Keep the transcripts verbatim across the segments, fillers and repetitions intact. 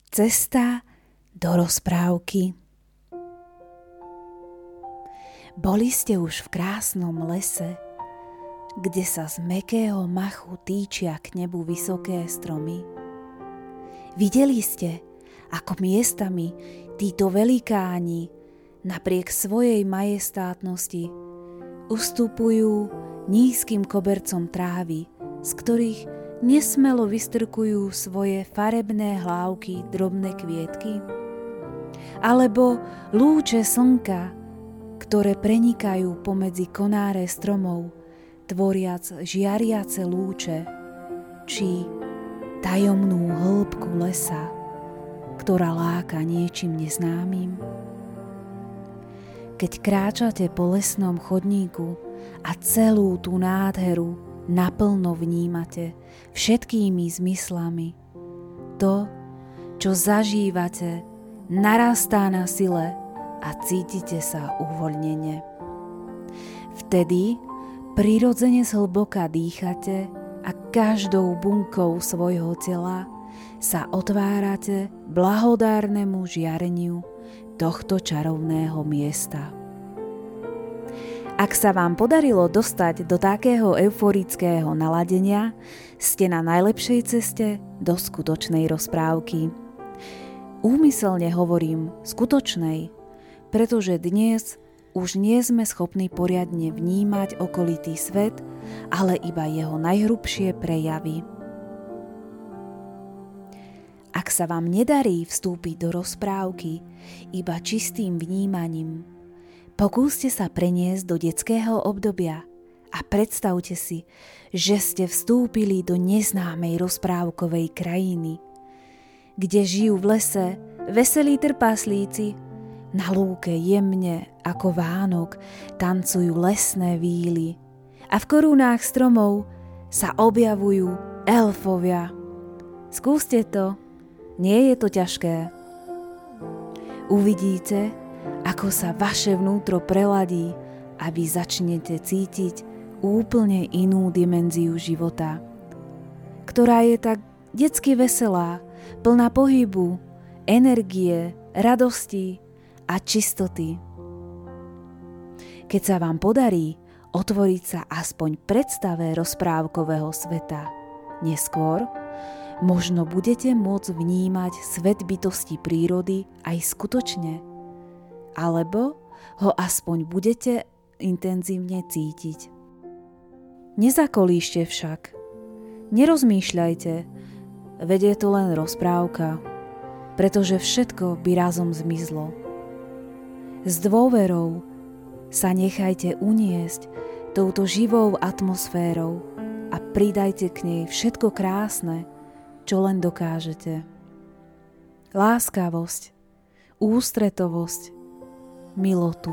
Cesta do rozprávky. Boli ste už v krásnom lese, kde sa z mäkkého machu týčia k nebu vysoké stromy. Videli ste, ako miestami títo velikáni napriek svojej majestátnosti ustupujú nízkym kobercom trávy, z ktorých nesmelo vystrkujú svoje farebné hlávky drobné kvietky? Alebo lúče slnka, ktoré prenikajú pomedzi konáre stromov, tvoriac žiariace lúče, či tajomnú hĺbku lesa, ktorá láka niečím neznámym? Keď kráčate po lesnom chodníku a celú tú nádheru naplno vnímate všetkými zmyslami, to, čo zažívate, narastá na sile a cítite sa uvoľnene. Vtedy prirodzene zhlboka dýchate a každou bunkou svojho tela sa otvárate blahodárnemu žiareniu tohto čarovného miesta. Ak sa vám podarilo dostať do takého euforického naladenia, ste na najlepšej ceste do skutočnej rozprávky. Úmyselne hovorím skutočnej, pretože dnes už nie sme schopní poriadne vnímať okolitý svet, ale iba jeho najhrubšie prejavy. Ak sa vám nedarí vstúpiť do rozprávky iba čistým vnímaním, pokúste sa preniesť do detského obdobia a predstavte si, že ste vstúpili do neznámej rozprávkovej krajiny, kde žijú v lese veselí trpaslíci, na lúke jemne ako Vánok tancujú lesné víly a v korunách stromov sa objavujú elfovia. Skúste to, nie je to ťažké. Uvidíte, ako sa vaše vnútro preladí a vy začnete cítiť úplne inú dimenziu života, ktorá je tak detsky veselá, plná pohybu, energie, radosti a čistoty. Keď sa vám podarí otvoriť sa aspoň predstave rozprávkového sveta, neskôr možno budete môcť vnímať svet bytosti prírody aj skutočne, alebo ho aspoň budete intenzívne cítiť. Nezakolíšte však, nerozmýšľajte, veď je to len rozprávka, pretože všetko by razom zmizlo. S dôverou sa nechajte uniesť touto živou atmosférou a pridajte k nej všetko krásne, čo len dokážete. Láskavosť, ústretovosť, milotu.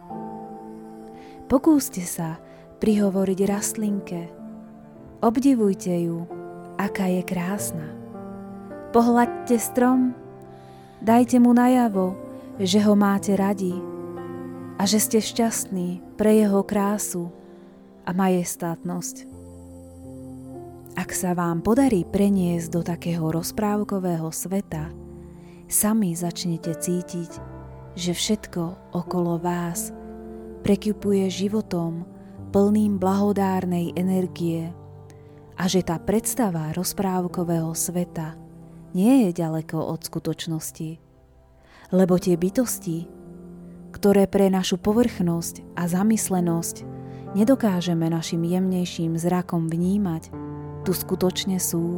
Pokúste sa prihovoriť rastlinke. Obdivujte ju, aká je krásna. Pohľaďte strom, dajte mu najavo, že ho máte radi a že ste šťastní pre jeho krásu a majestátnosť. Ak sa vám podarí preniesť do takého rozprávkového sveta, sami začnete cítiť, že všetko okolo vás prekypuje životom plným blahodárnej energie a že tá predstava rozprávkového sveta nie je ďaleko od skutočnosti, lebo tie bytosti, ktoré pre našu povrchnosť a zamyslenosť nedokážeme našim jemnejším zrakom vnímať, tu skutočne sú.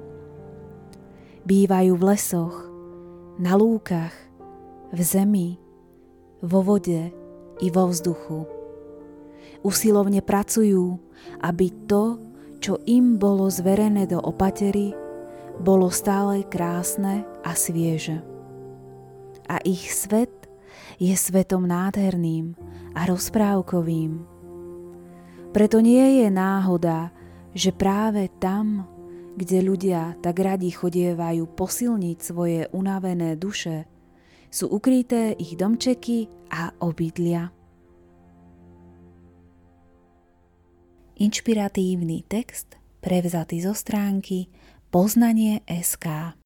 Bývajú v lesoch, na lúkach, v zemi, vo vode i vo vzduchu. Usilovne pracujú, aby to, čo im bolo zverené do opatery, bolo stále krásne a svieže. A ich svet je svetom nádherným a rozprávkovým. Preto nie je náhoda, že práve tam, kde ľudia tak radi chodievajú posilniť svoje unavené duše, sú ukryté ich domčeky a obydlia. Inšpiratívny text prevzatý zo stránky poznanie bodka es ká.